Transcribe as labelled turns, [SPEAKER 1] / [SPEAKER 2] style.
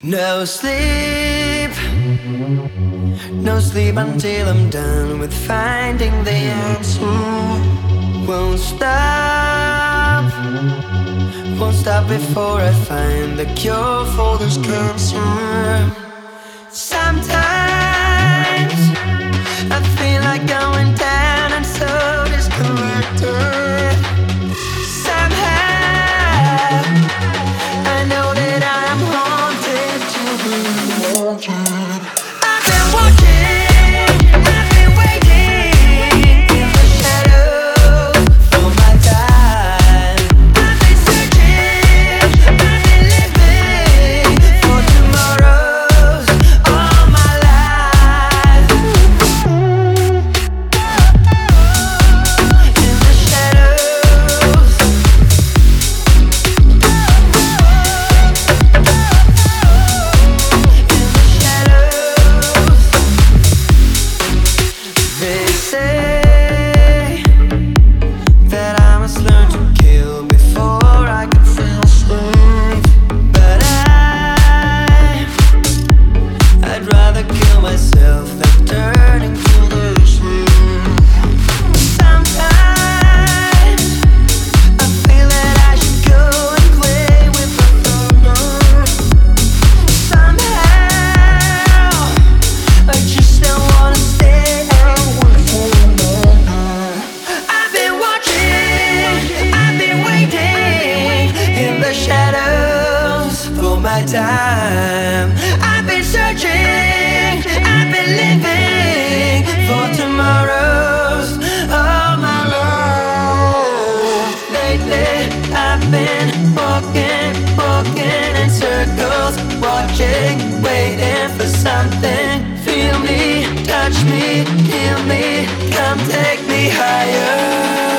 [SPEAKER 1] No sleep, no sleep until I'm done with finding the answer. Won't stop, won't stop before I find the cure for this cancer. Sometimes I feel like going down and so disconnected. Somehow I know that I'm haunted to be wanted. I've been watching, I've been waiting in the shadows for my time. I've been searching, I've been living for tomorrows all my life. In the shadows. They say that I must learn to kill before I can feel safe. But I'd rather kill myself than turn into this way. Sometimes I feel that I should go and play with the thunder. Somehow I just don't wanna stay away from longer. I've been watching, I've been waiting in the shadows for my time. I've been searching, I've been living for tomorrows all my life. Lately I've been walking in circles, watching, waiting for something. Feel me, touch me, heal me, come take me higher.